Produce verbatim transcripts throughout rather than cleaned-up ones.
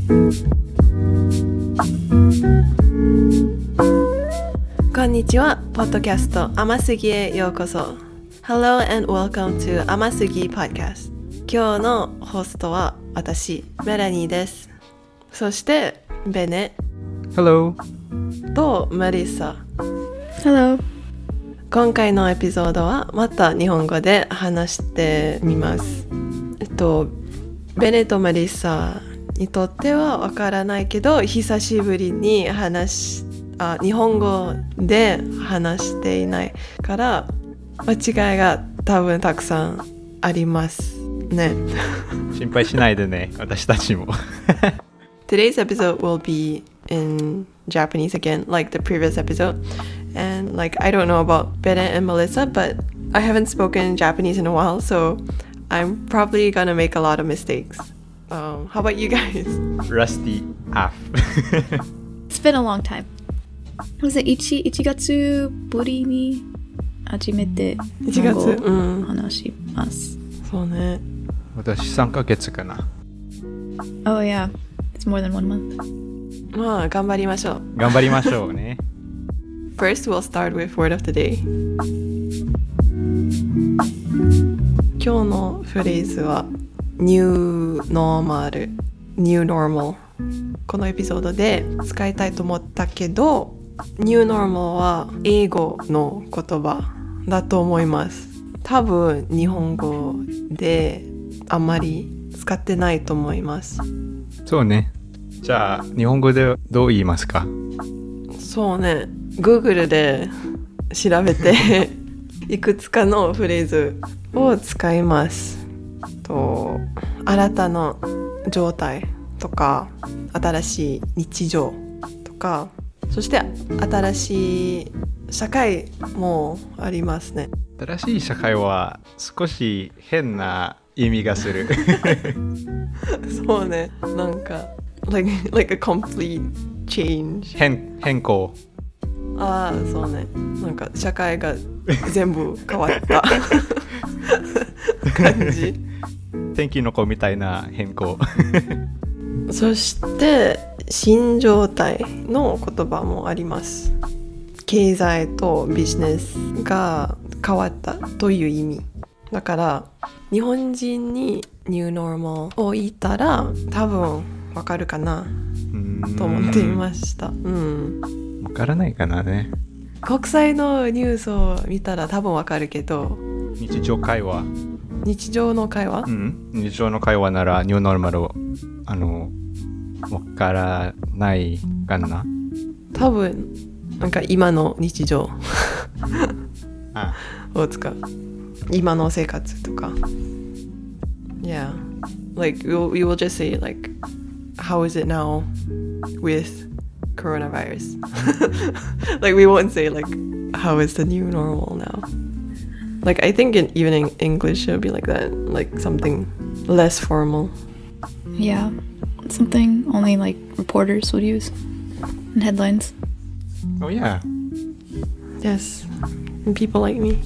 こんにちは、ポッドキャスト甘すぎへようこそ。Hello and welcome to 甘すぎ Podcast。今日のホストは私、メラニーです。そしてベネ Hello とメリッサ Hello。 今回のエピソードはまた日本語で話してみます。えっとベネとメリッサにとってはわからないけど、久しぶりに話しあ日本語で話していないから間違いが多分たくさんありますね。 心配しないでね、私たちも。 Today's episode will be in Japanese again, like the previous episode. And like I don't know about Bennett and Melissa, but I haven't spoken Japanese in a while, so I'm probably gonna make a lot of mistakes. Um, how about you guys? Rusty half. It's been a long time. Was it 1, 1月ぶりに初めて日本語を話します。 そうね。 私さんかげつかな。 Oh yeah, it's more than one month. まあ頑張りましょう。 頑張りましょうね。 First, we'll start with word of the day. 今日のフレーズは New Normal New Normal このエピソードで使いたいと思ったけど New Normal は英語の言葉だと思います。多分日本語であんまり使ってないと思います。 そうね。じゃあ日本語でどう言いますか？ そうね、Google で調べていくつかのフレーズを使います。と新たな状態とか新しい日常とか、そして新しい社会もありますね。 新しい社会は少し変な意味がする。 そうね、なんか like, like a complete change 変変更。 ああ、そうね、なんか社会が全部変わった感じ。 天気の子みたいな変更。 そして新状態の言葉もあります。経済とビジネスが変わったという意味だから、日本人にニューノーマルを言ったら多分わかるかなと思っていました。うん。 わからないかなね。 国際のニュースを見たら多分わかるけど、 日常会話日常の会話、 うん、日常の会話ならニューノーマルをあのわからないかな。 多分なんか今の日常あを使う。今の生活とか。Yeah, like we will, we will just say like, how is it now with coronavirus? Like we won't say like, how is the new normal now? Like I think in, even in English it would be like that, like something less formal. Yeah, something only like reporters would use in headlines. Oh yeah. Yes, and people like me.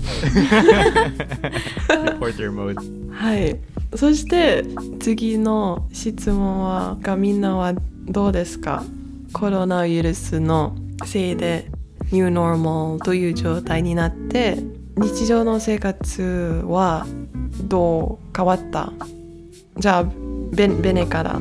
Reporter mode. はい。そして次の質問はがみんなはどうですか？コロナウイルスのせいでニューノーマルという状態になって日常の生活はどう変わった？じゃあベ、ベネから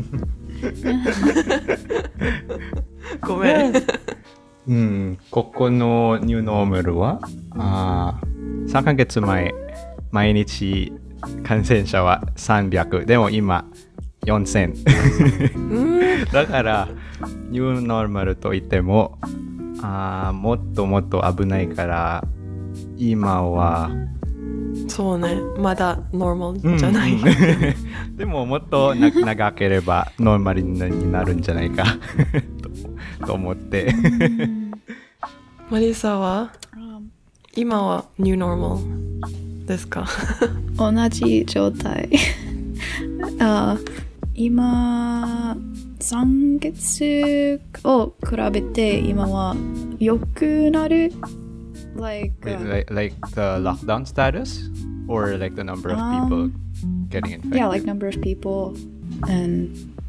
ごめん。 うん、ここのニューノーマルはあさんかげつまえ毎日感染者はさんびゃくでも今よんせんだからニューノーマルと言ってもあもっともっと危ないから今はそうね、まだノーマルじゃない、 うん、でももっとな長ければノーマルになるんじゃないかと, と思ってマリサは、um, 今はニューノーマルですか？ 同じ状態あ今さんかげつを比べて今は良くなる like, uh, like, like the lockdown status or like the number of people um, getting infected? Yeah, like number of people and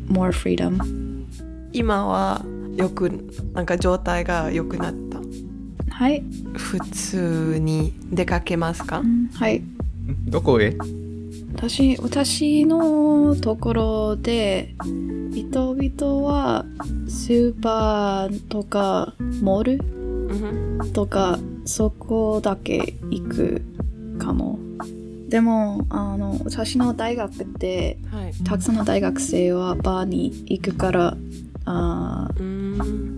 more freedom. 今はよくなんか状態が良くなった。 はい。 普通に出かけますか？ はい。 どこへ？ 私、私のところで人々はスーパーとかモール、うん、とかそこだけ行くかも。でもあの私の大学で、はい、たくさんの大学生はバーに行くからあ、うん、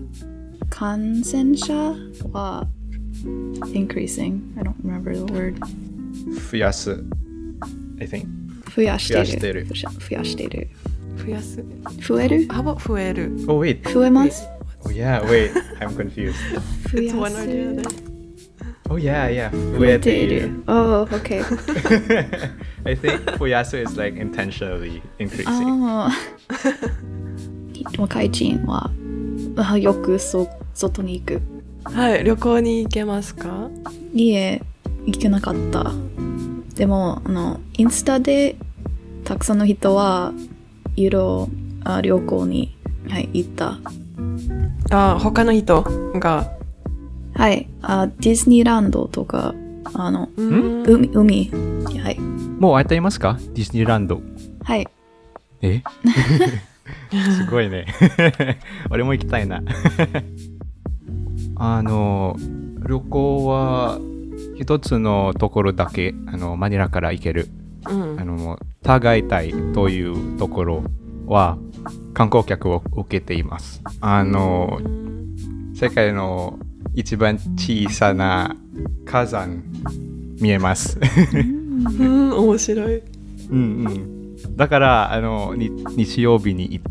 感染者は increasing. I don't remember the word. 増やす I think. 増やしてる。 増やしてる。 増やしてる。 増やす。 増える？ How about 増える？ Oh wait. 増えます。 Oh yeah, wait. I'm confused. 増やす。 Oh yeah, yeah. 増えている。 Oh, okay. I think 増やす is like intentionally increasing. ああ。若い人はよくそ外に行く。 はい、旅行に行けますか？ いいえ、行けなかった。でもあのインスタでたくさんの人はユーロあ旅行に、はい、行った。 あ、他の人がはいあディズニーランドとかあの海海はい。 もう会っていますか？ディズニーランド。 はい。 え？すごいね。俺も行きたいな。あの旅行は一つのところだけあのマニラから行ける、うん、あのタガイタイというところは観光客を受けています。あの世界の一番小さな火山見えます。 うん、面白い。 うんうん。だからあのに日曜日に行った。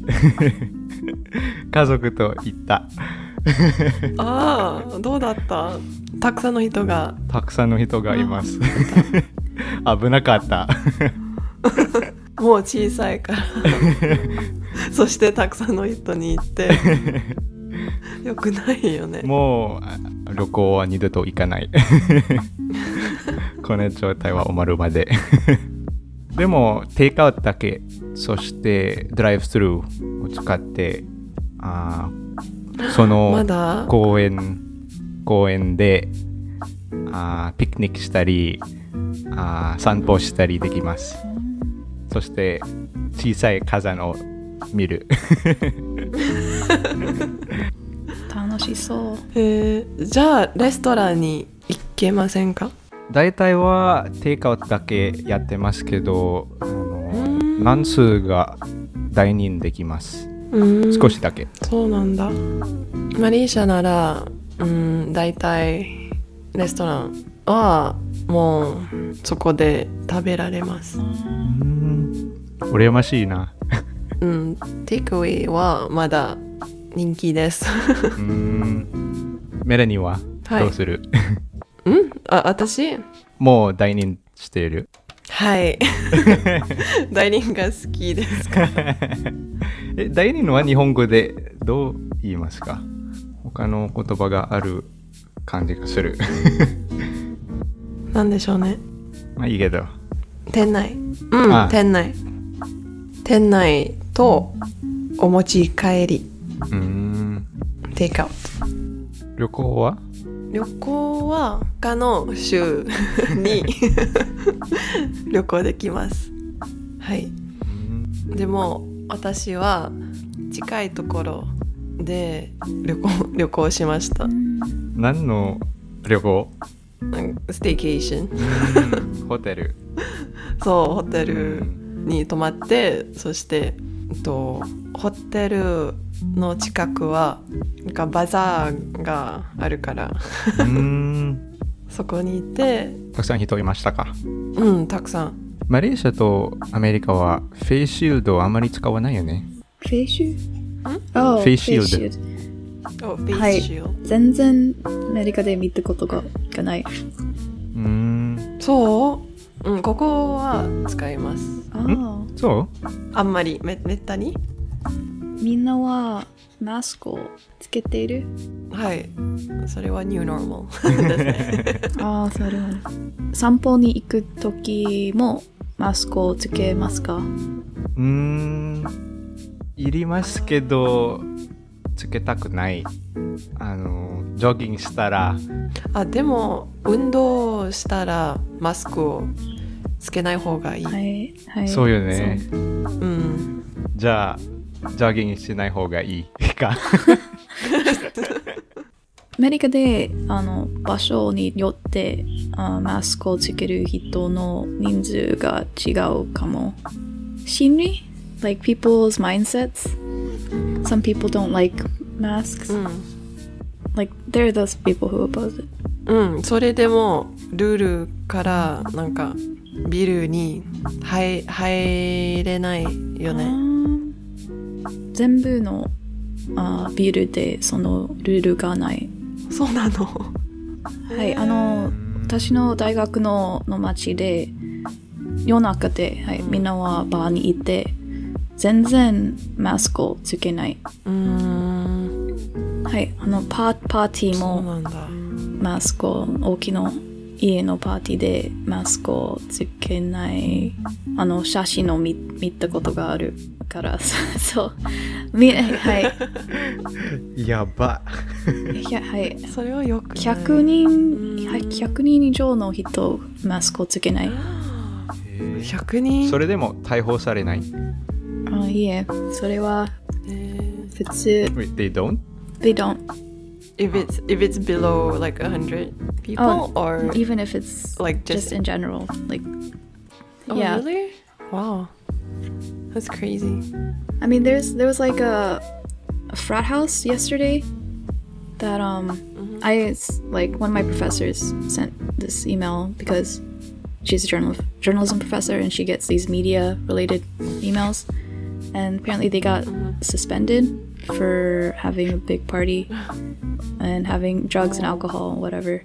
家族と行った。 ああ、どうだった？たくさんの人がたくさんの人がいます。危なかった。 もう小さいからそしてたくさんの人に行ってよくないよね。 もう旅行は二度と行かない。この状態は終わるまで。でもテイクアウトだけ、そしてドライブスルーを使ってあその公園公園であピクニックしたりあ散歩したりできます。そして小さい火山を見る。 楽しそう。 えー、じゃあレストランに行けませんか？ 大体はテイクアウトだけやってますけど、あの何数がダイニングできます。少しだけ。 そうなんだ。マレーシアなら、うん、大体レストランはもうそこで食べられます。うん、 羨ましいな。 うん、テイクアウェイはまだ人気です。 うん、メラニーはどうする？ はい、うん？あ、私？ もうダイニングしている。 はい。ダイニングが好きですか？ え、ダイニングは日本語でどう言いますか？他の言葉がある感じがする。 なんでしょうね。 まあいいけど。 店内。うん、ああ店内。店内とお持ち帰り。うーん。テイクアウト。 旅行は？ 旅行は他の州に旅行できます。はい。でも私は近いところで旅行旅行しました。 何の旅行？ ステイケーション。 ホテル。 そう、ホテルに泊まって、そして、えっと、ホテルの近くはなんかバザーがあるからうーんそこにいて。 たくさん人いましたか？ うん、たくさん。 マレーシアとアメリカはフェイスシールドあまり使わないよね。 フェイスシールド？ フェイスシールド。フェイスシールド。はい。 全然アメリカで見たことがない。うーん。そう？うん、ここは使います。 ああ。 そう？ あんまりめめったに？ みんなはマスクをつけている？ はい。それはニューノーマルですね。 ああ、それは。散歩に行くときもマスクをつけますか？ うーん。 いりますけどつけたくない。あのジョギングしたら。 あ、でも運動したらマスクをつけない方がいい。 はいはい。 そうよね。 そううん。 じゃあジョギングしない方がいいか。 アメリカであの場所によってあマスクをつける人の人数が違うかも。心理 like people's mindsets. Some people don't like masks. うん。 Like there are those people who oppose it. うん、それでもルールからなんかビルに入入れないよね。 全部のあビルでそのルールがない。 そうなの。 はい、あの私の大学のの町で夜中で、はい、みんなはバーにいて全然マスクをつけない。 うーん。 はい、あのパー、パーティーそうもなんだ。 マスクを大きな家のパーティーでマスクをつけないあの写真を 見, 見たことがあるからそうみはいやば。 いやはいそれはよくない。 ひゃくにんはいひゃくにん以上の人マスクをつけない。 ひゃくにん。 それでも逮捕されない。 あいいえそれはえー普通。 Wait, they don't? They don't. If it's if it's below like a hundred people Oh, or even if it's like just just in general, like oh, yeah. really? Wow, that's crazy. I mean, there's there was like a, a frat house yesterday that um Mm-hmm. I it's like one of my professors sent this email because she's a journal journalism professor and she gets these media related emails, and apparently they got Mm-hmm. suspended for having a big party and having drugs and alcohol, whatever,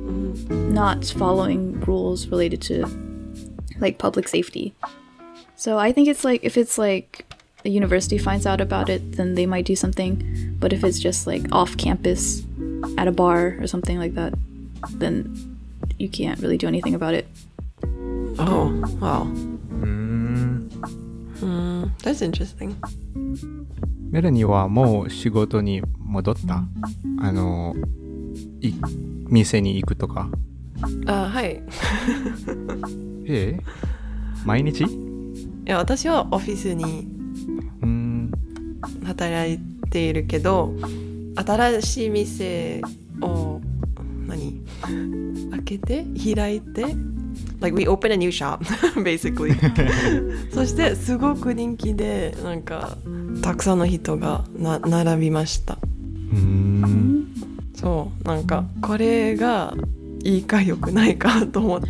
not following rules related to like public safety. So I think it's like if it's like a university finds out about it, then they might do something. But if it's just like off campus at a bar or something like that, then you can't really do anything about it. Oh, wow. うーん。 Mm, that's interesting. メラニーはもう仕事に戻った？あの、い店に行くとか。 あ、はい。 ええ？毎日？ いや、私はオフィスにうーん。 働いているけど、新しい店を何開けて開いて like we open a new shop basically そしてすごく人気でなんかたくさんの人がな並びました。 うーん。 そうなんかこれがいいか良くないかと思った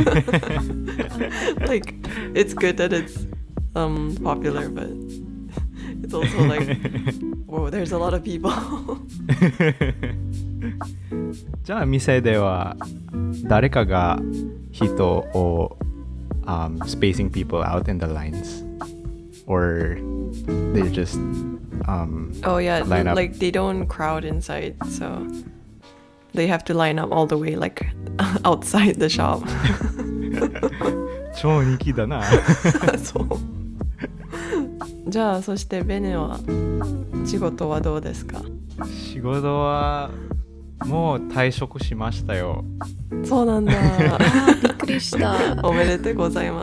。like it's good that it's um popular but it's also like whoa there's a lot of people じゃあ店では誰かが人を、um, spacing people out in the lines or they're just um, oh yeah line up. like they don't crowd inside so they have to line up all the way like outside the shop 超人気だなそうじゃあそしてベネは仕事はどうですか？ 仕事はもう退職しましたよ。 そうなんだびっくりした。 おめでとうござい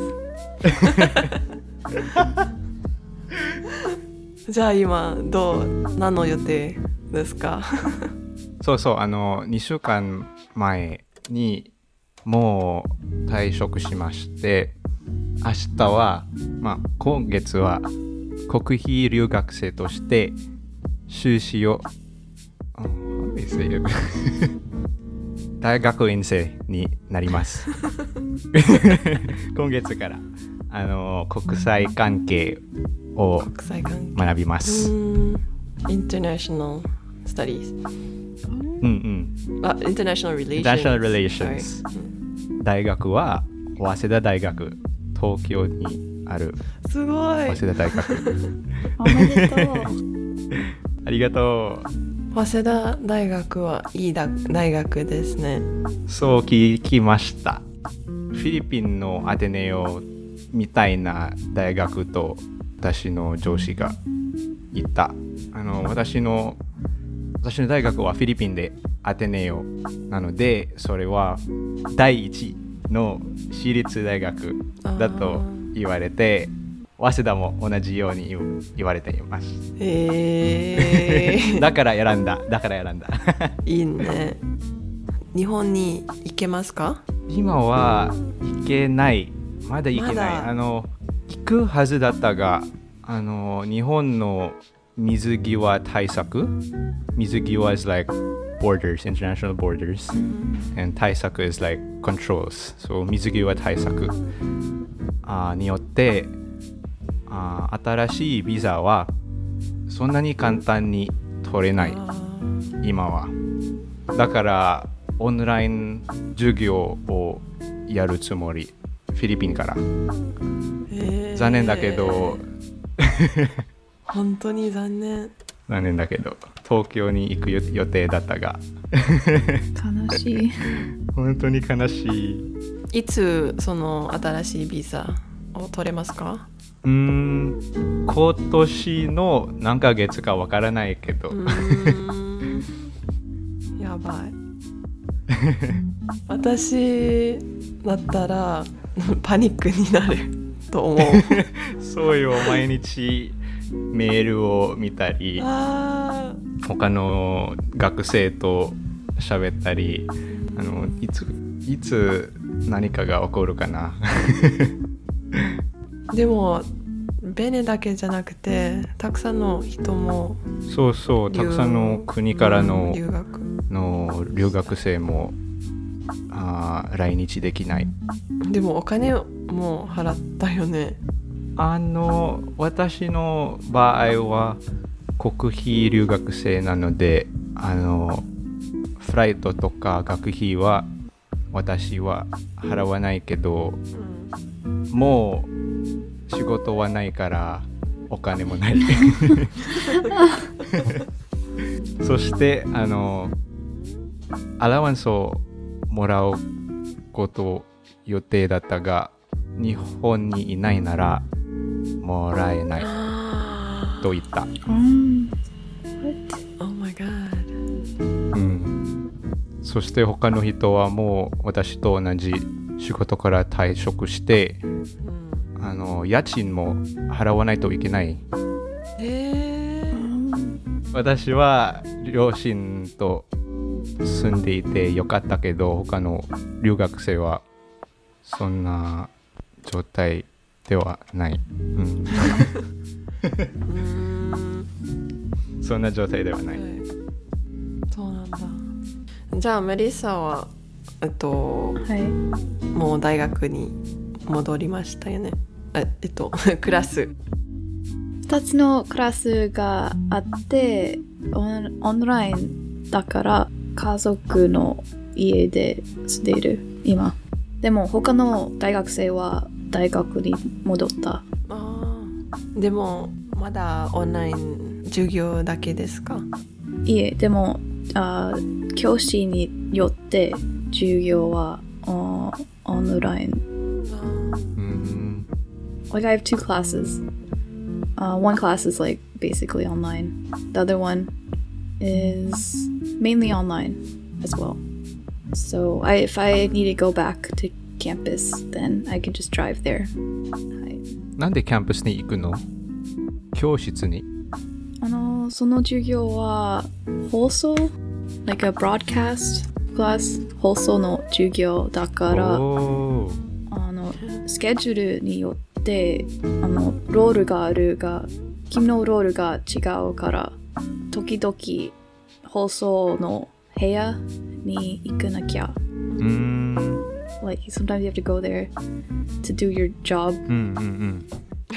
ますじゃあ今どう何の予定ですか？ そうそうあのにしゅうかんまえにもう退職しまして明日は、まあ、今月は国費留学生として修士を大学院生になります今月からあの国際関係を国際関係学びます。 International Studies うんうんあ International Relations International Relations 大学は早稲田大学東京にあるすごい早稲田大学おめでとうありがとう早稲田大学はいいだ大学ですね。 そう聞きました。フィリピンのアテネオみたいな大学と私の上司が言った。あの私の私の大学はフィリピンでアテネオなので、それは第一の私立大学だと言われて、早稲田も同じように言われています。 えー、 だから選んだ。だから選んだ。 いいね。日本に行けますか？ 今は行けない。まだ行けない。あの行くはずだったが、あの日本の水際対策、水際 is like borders, international borders, and 対策 is like controls. So 水際対策あによってあ新しいビザはそんなに簡単に取れない今は。だからオンライン授業をやるつもり、フィリピンから。 えー、 残念だけど本当に残念。 残念だけど東京に行く予定だったが悲しい。 本当に悲しい。 いつその新しいビザを取れますか？ うーん今年の何ヶ月かわからないけど。うーんやばい。私だったらパニックになると思う。 そうよ、毎日メールを見たり、他の学生と喋ったり、あのいついつ何かが起こるかな。 でもベネだけじゃなくてたくさんの人もそうそうたくさんの国からの、 うん、留学の留学生もあ来日できない。 でもお金も払ったよね。 あの私の場合は国費留学生なので、あのフライトとか学費は私は払わないけど、うん、もう仕事はないからお金もない。そしてあのアラワンスをもらうこと予定だったが、日本にいないならもらえないと言った。 um, Oh my god、 うん、そして他の人はもう私と同じ仕事から退職して、うん、あの家賃も払わないといけない。 えー、 私は両親と住んでいてよかったけど、他の留学生はそんな状態ではない、うん、そんな状態ではない、はい、 そうなんだ。じゃあメリッサはえっと、 はい、 もう大学に戻りましたよね。えっとクラスふたつのクラスがあってオン、オンラインだから家族の家で住んでいる今。でも他の大学生は大学に戻った。 あでもまだオンライン授業だけですか？ いえ、でもあ教師によって授業はオンライン。 Mm-hmm. Like I have two classes. Uh, one class is like basically online. The other one is mainly online as well. So I, if I need to go back to campus, then I can just drive there. はい、 なんでキャンパスに行くの？教室に？ あのその授業は放送 like a broadcast class 放送の授業だから、あのスケジュールによってあのロールがあるが君のロールが違うから時々放送の部屋に行かなきゃ。 うーん。 Like sometimes you have to go there to do your job. うんうんうん。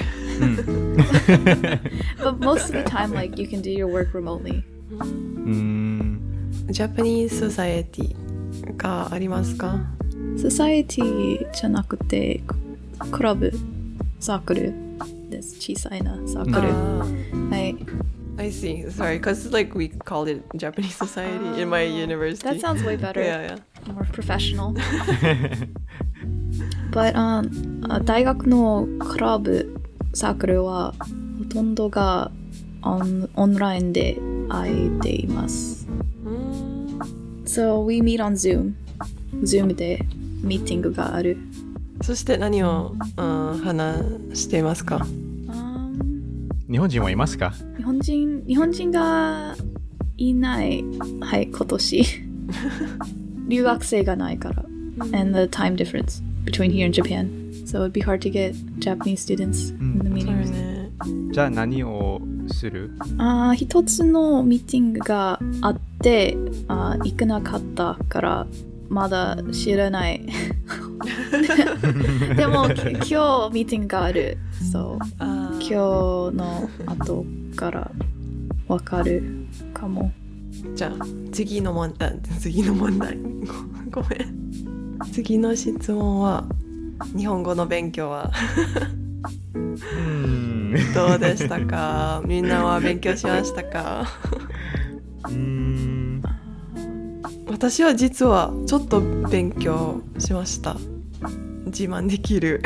But most of the time, like you can do your work remotely. うーん。 ジャパニーズソサエティがありますか？ ソサエティじゃなくてクラブ、サークルです。小さいなサークル。はい。 I see. Sorry, because like we called it Japanese society in my university. That sounds way better. Yeah, yeah. More professional. But um, 大学のクラブサークルはほとんどがオン、オンラインで会えています。 うん So we meet on Zoom. Zoom でミーティングがある。 そして何を、うん、話していますか？ 日本人はいますか？ 日本人、日本人がいない。はい、今年。留学生がないから。And the time difference between here and Japan. So it'd be hard to get Japanese students in the そう meetings. ね。 じゃあ何をする？ あー一つのミーティングがあってあー行かなかったからまだ知らない。でもき今日ミーティングがある。そうあー今日の後からわかるかも。 じゃあ次の問題次の問題ごごめん次の質問は日本語の勉強はうんどうでしたか？みんなは勉強しましたか？ うん私は実はちょっと勉強しました。自慢できる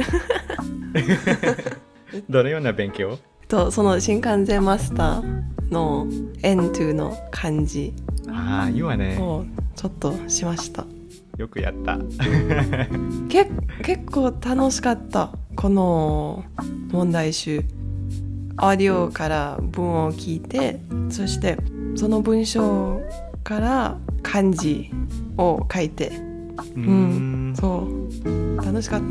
どのような勉強？ とその新幹線マスターの エヌツー の漢字ああ、いいわね。 をちょっとしました。 よくやった。 け結構楽しかったこの問題集。オーディオから文を聞いて、そしてその文章から漢字を書いて、 ううんん、そう楽しかった。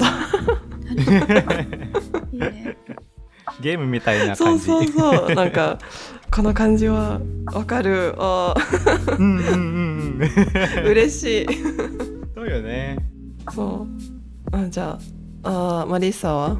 いいね。 ゲームみたいなそう感じ。 そうそうなんかこの漢字はわかる。あうんうんうんうん。 嬉しい。 そうよね。 そうあじゃああマリッサは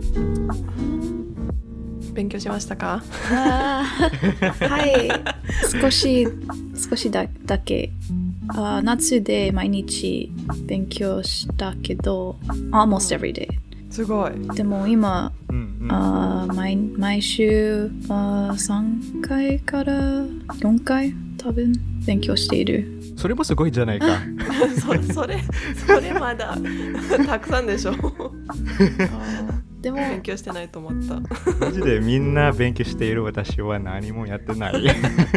勉強しましたか？ あーはい少し少しだだけあー夏で毎日勉強したけど almost every day すごい。 でも今うんうん。 あー 毎, 毎週あーさんかいからよんかい多分勉強している。 それもすごいじゃないか。 そ, それそれまだたくさんでしょ。 でも勉強してないと思った。 マジでみんな勉強している私は何もやってない。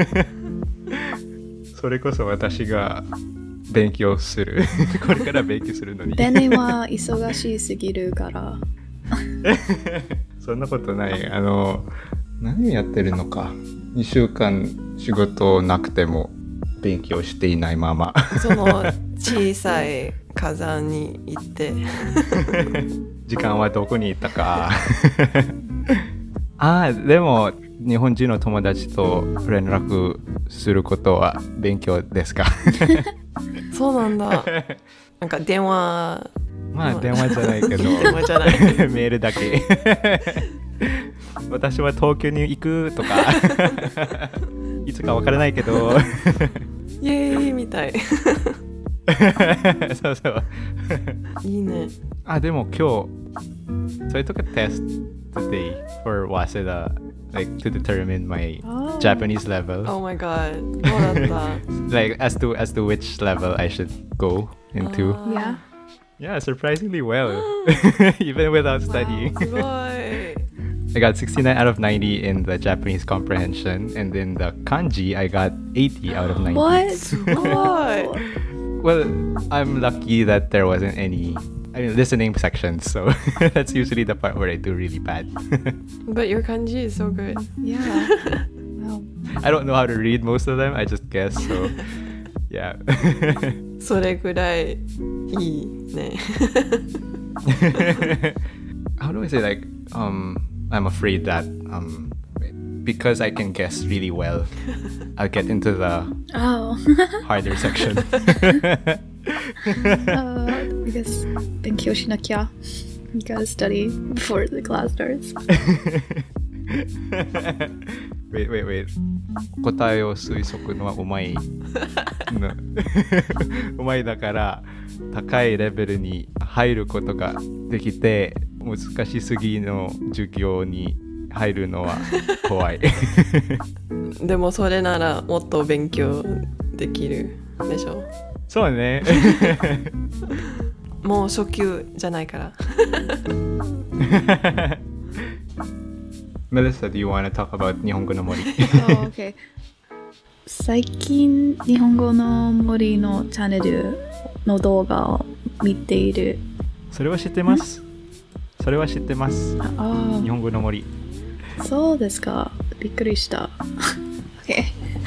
それこそ私が勉強する。これから勉強するのに。 ベネは忙しすぎるから。 そんなことない。あの、何やってるのか。にしゅうかん仕事なくても勉強していないまま。 その小さい火山に行って時間はどこに行ったか。ああ、でも日本人の友達と連絡することは勉強ですか？ そうなんだ。なんか電話まあ電話じゃないけど電話じゃないメールだけ。私は東京に行くとかいつかわからないけどイエーイみたい。 そうそう。 いいね。 あ、でも今日 So I took a test today for Waseda like to determine my Oh. Japanese level. Oh my god どうだった？ Like as to as to which level I should go into. あー Yeah. Yeah, surprisingly well. Even without studying. すごい。 I got sixty-nine out of ninety in the Japanese comprehension, and in the kanji I got eighty out of ninety. What? すごい。 Well, I'm lucky that there wasn't any I mean listening sections, so that's usually the part where I do really bad. But your kanji is so good. Yeah. Wow. I don't know how to read most of them, I just guess, so yeah. それぐらいいいね。 How do I say, like, um I'm afraid that um because I can guess really well, I'll get into the Oh. harder section. uh, I guess 勉強しなきゃ. You gotta study before the class starts. Wait, wait, wait. 答えを推測のはうまいのうまいだから高いレベルに入ることができて、難しすぎの授業に入るのは怖い。 でもそれならもっと勉強できるでしょ。 そうね。 もう初級じゃないから。 Melissa, do you want to talk about 日本語の森 oh, okay. 最近日本語の森のチャンネルの動画を見ている。 それは知ってます。それは知ってます。 あ日本語の森。 そうですか。びっくりした。okay.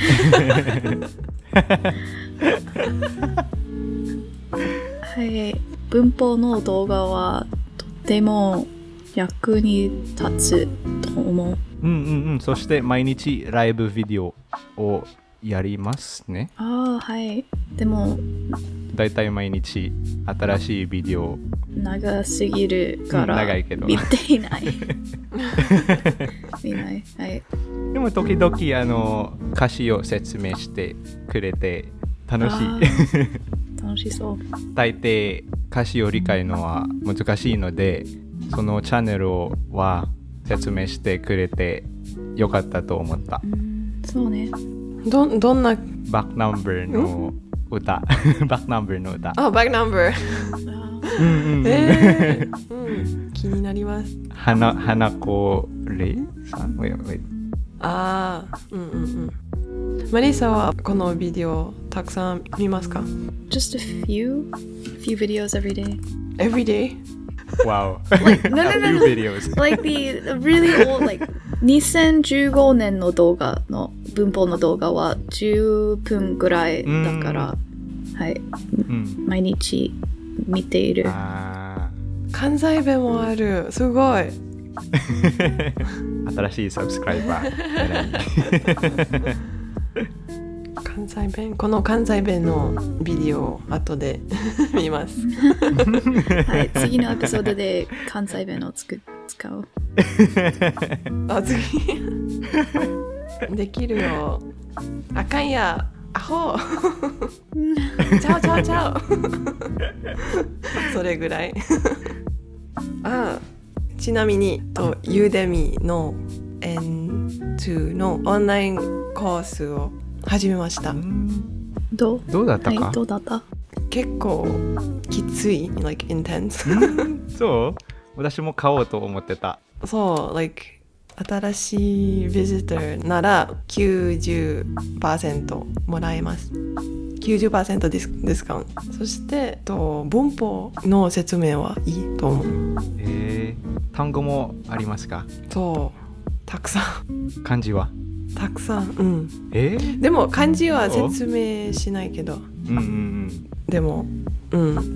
はい、文法の動画はとても役に立つと思う。 うんうんうん。そして毎日ライブビデオをやりますね。 ああ、はい。でもだいたい毎日新しいビデオ。 長すぎるから長いけど見ていない。見ない。はい。 でも時々あの歌詞を説明してくれて楽しい。 楽しそう。 大抵歌詞を理解のは難しいので、そのチャンネルは説明してくれてよかったと思った。 うん、そうね。 ど, どんなバックナンバーの歌。バックナンバーの歌。 あ、バックナンバー。 うんうんうん、 えーうん、気になります。 花花子レイさん。 ああ、うんうんうん。マリサはこのビデオたくさん見ますか？ Just a few, few videos every day. Every day? Wow. Like, no, no, no, no. Few videos. Like the really old, like にせんじゅうごねんの動画の文法の動画はじゅっぷんぐらいだから、はい、うん、毎日見ている。 あ関西弁もある。すごい。 新しいサブスクライバー。 関西弁、この関西弁のビデオを後で見ます。 はい、次のエピソードで関西弁をつく使う。 あ、次できるよ。あかんや、アホ。ちゃうちゃうちゃう。それぐらい。あ、ちなみにとユーデミの エヌツー のオンラインコースを始めました。 どう？ どうだったか？ はい、どうだった？ 結構きつい、like intense。 そう？私も買おうと思ってた。 そう、like 新しいビジターなら きゅうじゅっパーセント もらえます。きゅうじゅっパーセント ディス、ディスカウント。そしてと文法の説明はいいと思う。 えー、単語もありますか？ そう、たくさん。 漢字は？ たくさん、うん。 えー、 でも漢字は説明しないけど、 うんうんうん、 でも、うん、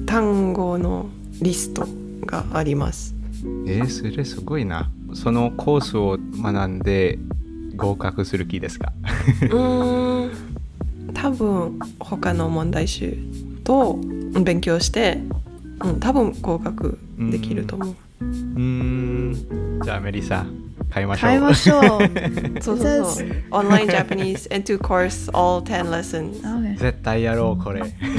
単語のリストがあります。 えー、それすごいな。そのコースを学んで合格する気ですか？ うーん、多分他の問題集と勉強して、うん、多分合格できると思う。 うーん、じゃあメリサ買いましょう。 買いましょう。 そうそうそう。Online Japanese and two course all ten lessons. Okay. 絶対やろうこれ。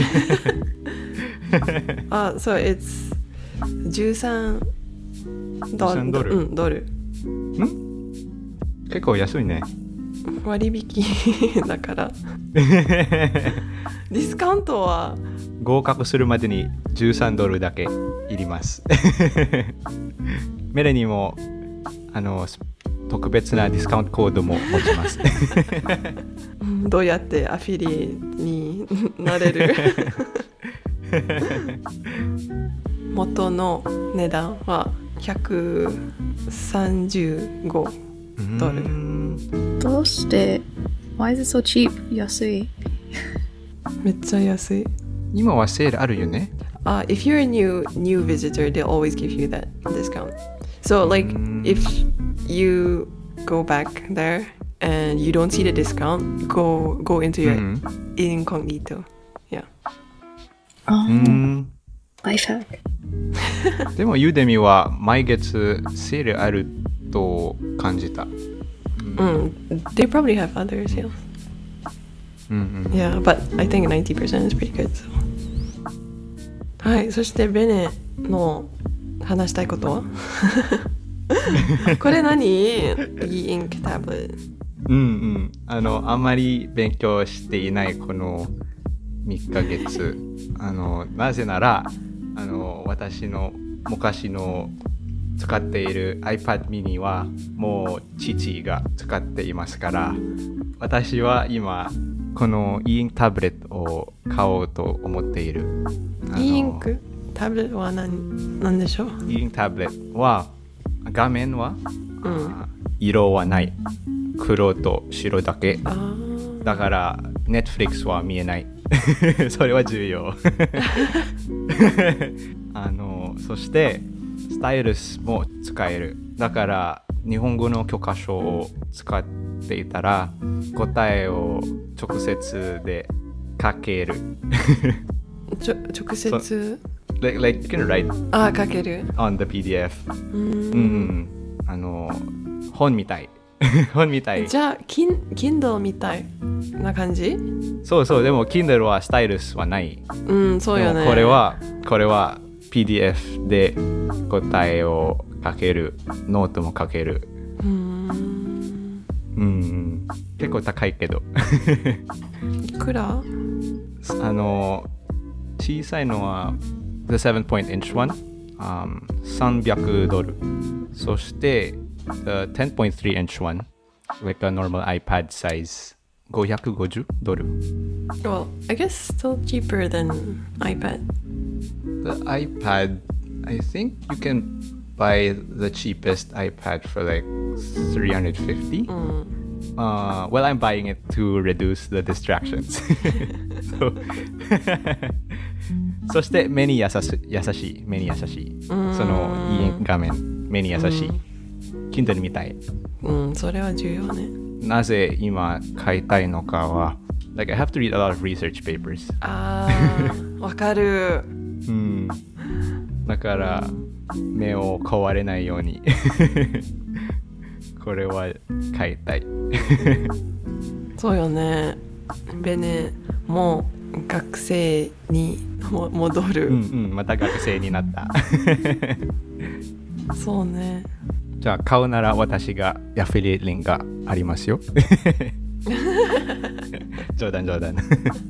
あ、そう、it's じゅうさんドル。 ドル。 うん、ドル。 ん？結構安いね。 割引だから。ディスカウントは合格するまでにじゅうさんドルだけいります。メレにもあの特別なディスカウントコードも持ちます。 どうやってアフィリになれる？元の値段はひゃくさんじゅうごドル。 どうして Why is it so cheap? 安い。 めっちゃ安い。 今はセールあるよね。 Uh, if you're a new new visitor, they'll always give you that discount. So like if you go back there and you don't see the discount, go go into your mm-hmm. incognito. Yeah. あー、 ライフハック。 でもユーデミは毎月セールあると感じた。うん Mm, they probably have other sales. Mm-hmm. Yeah, but I think ninety percent is pretty good. So. はい、そしてベネの話したいことはこれ何？ E-Ink tablet。 うんうん。あの、あんまり勉強していないこのみっかげつ。あの、なぜなら、あの、私の昔の使っている iPad mini はもう父が使っていますから、私は今この e インクタブレットを買おうと思っている。 e インクタブレットは 何, 何でしょう。 e インクタブレットは画面は、 うん、 色はない、黒と白だけあだから Netflix は見えないそれは重要あのそしてスタイルスも使える。だから日本語の教科書を使っていたら答えを直接で書けるちょ直接 like, like you can write あ書ける on the ピーディーエフ。 うーん、 うん、あの本みたい本みたい。 じゃあ Kindle みたいな感じ。 そうそう、でも Kindle はスタイルスはない。 うんそうよね。 でもこれはこれは ピーディーエフ で答えを書ける、ノートも書ける。 うーん、 うん、結構高いけどいくら？ あの小さいのは The セブン point inch one、um, さんびゃくドル。そして The テン point three inch one like a normal iPad size ごひゃくごじゅうドル。 Well, I guess still cheaper than iPad. The iPad, I think you can buy the cheapest iPad for like three hundred fifty. Mm. Uh, well, I'm buying it to reduce the distractions. so, そして目に優し優しい、目に優しい。そのいい画面、目に優しい。Kindle みたい。 うん、それは重要ね。 なぜ今買いたいのかは、like I have to read a lot of research papers. あー、わかる。 うん。だから目を壊れないようにこれは買いたいそうよね。ベネもう学生にも戻る。 うんうん、また学生になったそうね。 じゃあ買うなら私がアフィリエイトリンクがありますよ冗談冗談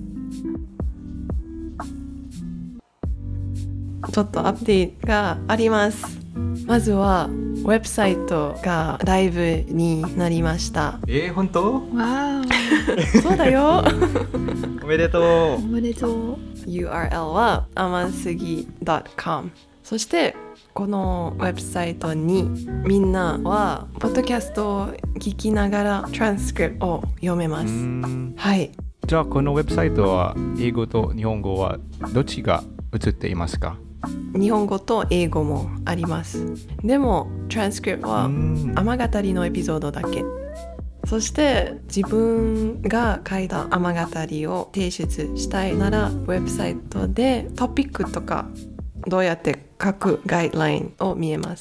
ちょっとアップデートがあります。まずはウェブサイトがライブになりました。 えー、本当？ わそうだよおめでとーおう。 めでとう。 ユーアールエル は アマスギ ドットコム。 そしてこのウェブサイトにみんなはポッドキャストを聞きながらトランスクリプトを読めます。はい。 じゃあこのウェブサイトは英語と日本語はどっちが映っていますか？ 日本語と英語もあります。でもトランスクリプトは雨語りのエピソードだけ。そして自分が書いた雨語りを提出したいならウェブサイトでトピックとかどうやって書くガイドラインを見えます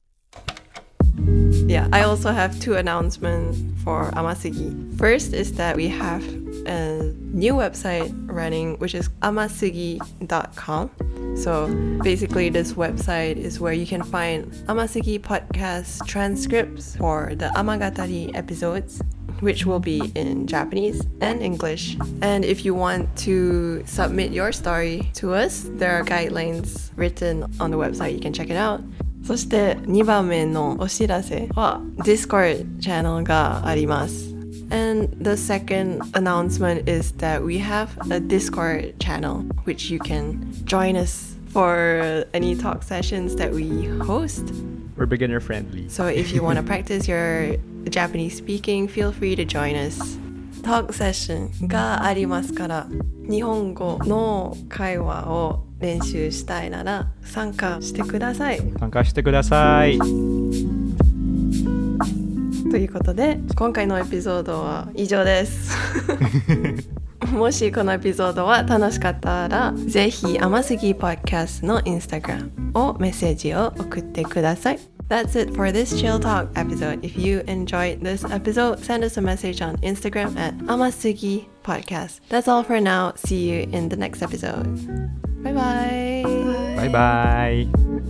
。Yeah, I also have two announcements for Amasugi. First is that we have a new website running, which is amasugi dot com. So basically this website is where you can find Amasugi podcast transcripts for the Amagatari episodes, which will be in Japanese and English. And if you want to submit your story to us, there are guidelines written on the website. You can check it out. そしてにばんめのお知らせは Discord チャンネルがあります。And the second announcement is that we have a Discord channel which you can join us for any talk sessions that we host. We're beginner friendly. So if you want to practice your Japanese speaking, feel free to join us. トークセッションがありますから日本語の会話を練習したいなら参加してください。 参加してください。 ということで今回のエピソードは以上ですもしこのエピソードは楽しかったらぜひ甘すぎポッドキャストのインスタグラムをメッセージを送ってください。That's it for this Chill Talk episode. If you enjoyed this episode, send us a message on Instagram at Amasugi Podcast. That's all for now. See you in the next episode. Bye bye. Bye bye.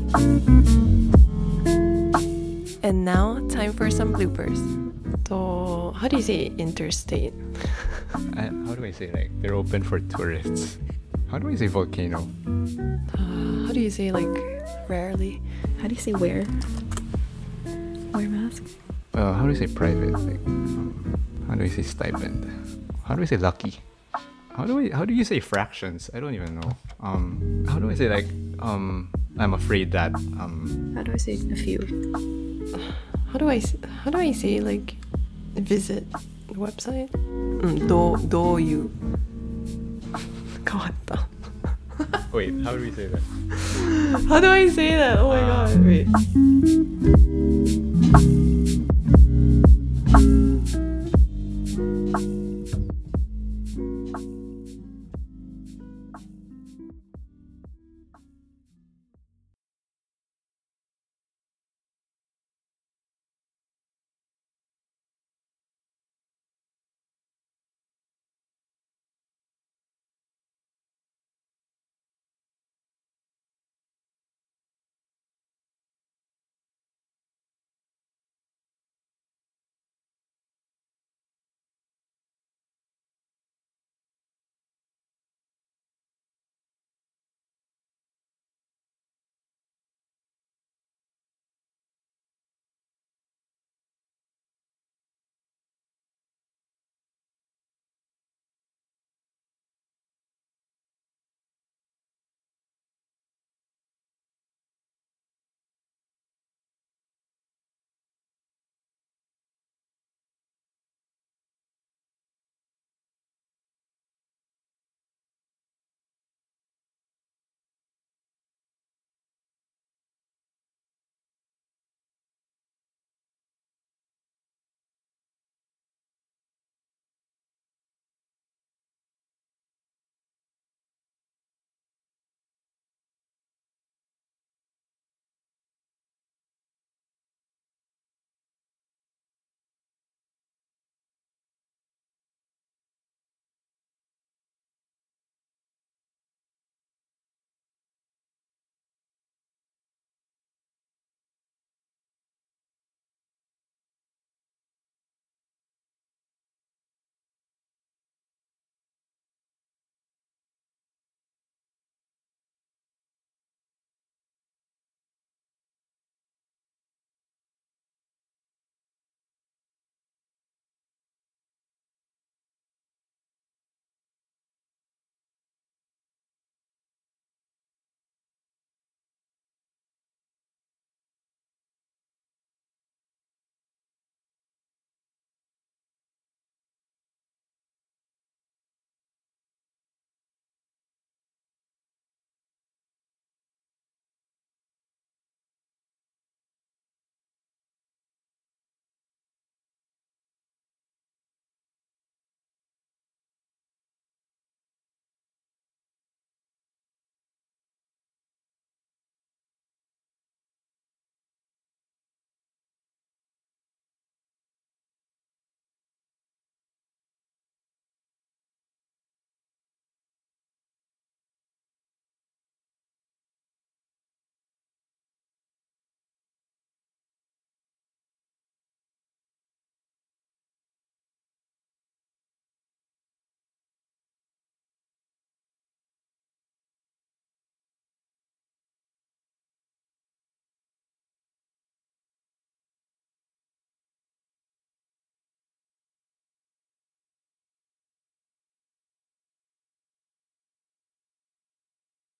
And now, time for some bloopers. So, how do you say interstate? uh, how do I say like they're open for tourists? How do I say volcano? Uh, how do you say like rarely? How do you say where? すか？ Uh, how do you say private? Like, um, how do you say stipend? How do you say lucky? How do we? How do you say fractions? I don't even know. Um, how do I say like um? I'm afraid that um. How do I say a few? How do I s- how do I say like visit the website? うん、どうどういう変わった。 Wait, how do we say that? How do I say that? Oh my god. Wait.